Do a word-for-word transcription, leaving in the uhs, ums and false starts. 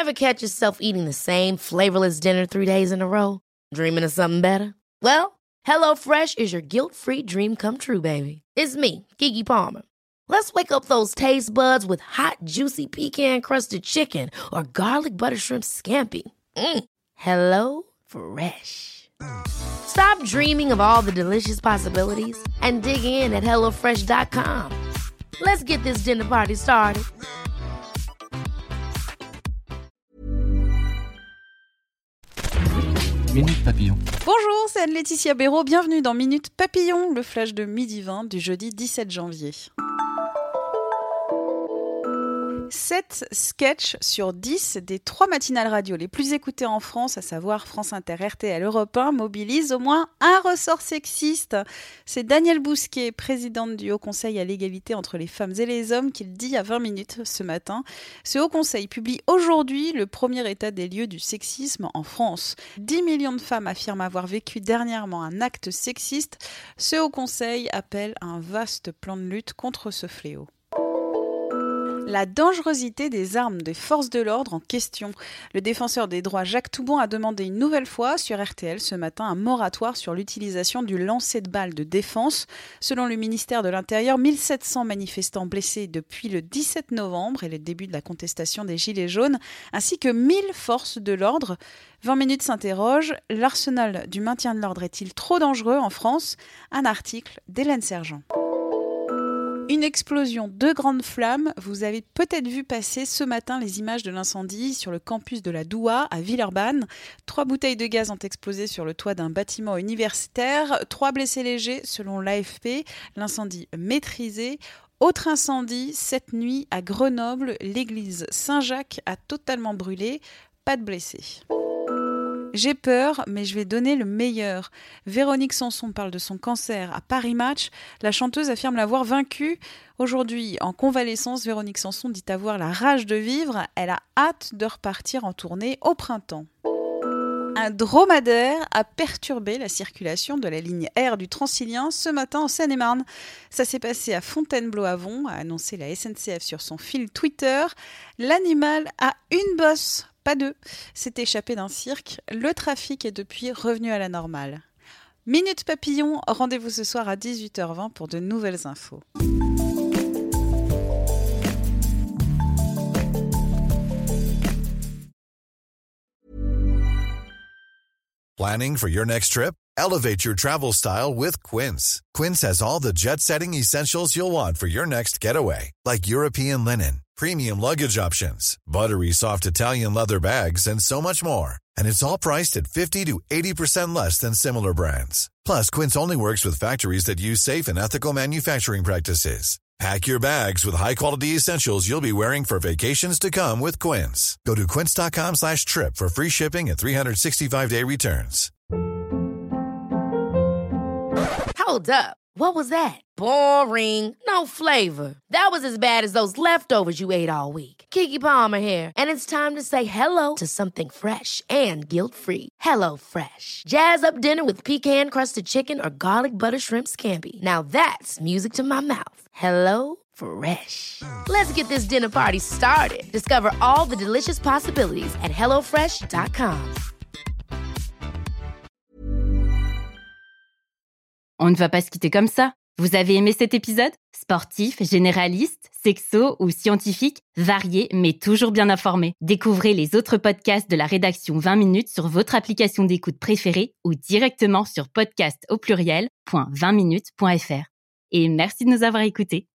Ever catch yourself eating the same flavorless dinner three days in a row? Dreaming of something better? Well, HelloFresh is your guilt-free dream come true, baby. It's me, Keke Palmer. Let's wake up those taste buds with hot, juicy pecan-crusted chicken or garlic butter shrimp scampi. Mm. Hello Fresh. Stop dreaming of all the delicious possibilities and dig in at hello fresh dot com. Let's get this dinner party started. Minute Papillon. Bonjour, c'est Anne-Laetitia Béraud. Bienvenue dans Minute Papillon, le flash de midi vingt du jeudi dix-sept janvier. sept sketchs sur dix des trois matinales radio les plus écoutées en France, à savoir France Inter, R T L, Europe un, mobilisent au moins un ressort sexiste. C'est Danielle Bousquet, présidente du Haut Conseil à l'égalité entre les femmes et les hommes, qui le dit à vingt minutes ce matin. Ce Haut Conseil publie aujourd'hui le premier état des lieux du sexisme en France. dix millions de femmes affirment avoir vécu dernièrement un acte sexiste. Ce Haut Conseil appelle à un vaste plan de lutte contre ce fléau. La dangerosité des armes des forces de l'ordre en question. Le défenseur des droits Jacques Toubon a demandé une nouvelle fois sur R T L ce matin un moratoire sur l'utilisation du lancer de balles de défense. Selon le ministère de l'Intérieur, mille sept cents manifestants blessés depuis le dix-sept novembre et le début de la contestation des Gilets jaunes, ainsi que mille forces de l'ordre. vingt minutes s'interroge, l'arsenal du maintien de l'ordre est-il trop dangereux en France ? Un article d'Hélène Sergent. Une explosion, deux grandes flammes. Vous avez peut-être vu passer ce matin les images de l'incendie sur le campus de la Doua à Villeurbanne. Trois bouteilles de gaz ont explosé sur le toit d'un bâtiment universitaire. Trois blessés légers selon l'A F P. L'incendie maîtrisé. Autre incendie, cette nuit à Grenoble. L'église Saint-Jacques a totalement brûlé. Pas de blessés. J'ai peur, mais je vais donner le meilleur. Véronique Sanson parle de son cancer à Paris Match. La chanteuse affirme l'avoir vaincu. Aujourd'hui, en convalescence, Véronique Sanson dit avoir la rage de vivre. Elle a hâte de repartir en tournée au printemps. Un dromadaire a perturbé la circulation de la ligne R du Transilien ce matin en Seine-et-Marne. Ça s'est passé à Fontainebleau-Avon, a annoncé la S N C F sur son fil Twitter. L'animal a une bosse. Pas deux. S'est échappé d'un cirque. Le trafic est depuis revenu à la normale. Minute Papillon, rendez-vous ce soir à dix-huit heures vingt pour de nouvelles infos. Planning for your next trip? Elevate your travel style with Quince. Quince has all the jet-setting essentials you'll want for your next getaway, like European linen, premium luggage options, buttery soft Italian leather bags, and so much more. And it's all priced at fifty to eighty percent less than similar brands. Plus, Quince only works with factories that use safe and ethical manufacturing practices. Pack your bags with high-quality essentials you'll be wearing for vacations to come with Quince. Go to quince.com slash trip for free shipping and three sixty-five day returns. Hold up. What was that? Boring. No flavor. That was as bad as those leftovers you ate all week. Keke Palmer here, and it's time to say hello to something fresh and guilt-free. Hello Fresh. Jazz up dinner with pecan-crusted chicken or garlic butter shrimp scampi. Now that's music to my mouth. Hello Fresh. Let's get this dinner party started. Discover all the delicious possibilities at hello fresh dot com. On ne va pas se quitter comme ça. Vous avez aimé cet épisode ? Sportif, généraliste, sexo ou scientifique, varié mais toujours bien informé. Découvrez les autres podcasts de la rédaction vingt minutes sur votre application d'écoute préférée ou directement sur podcast au pluriel point vingt minutes point f r. Et merci de nous avoir écoutés.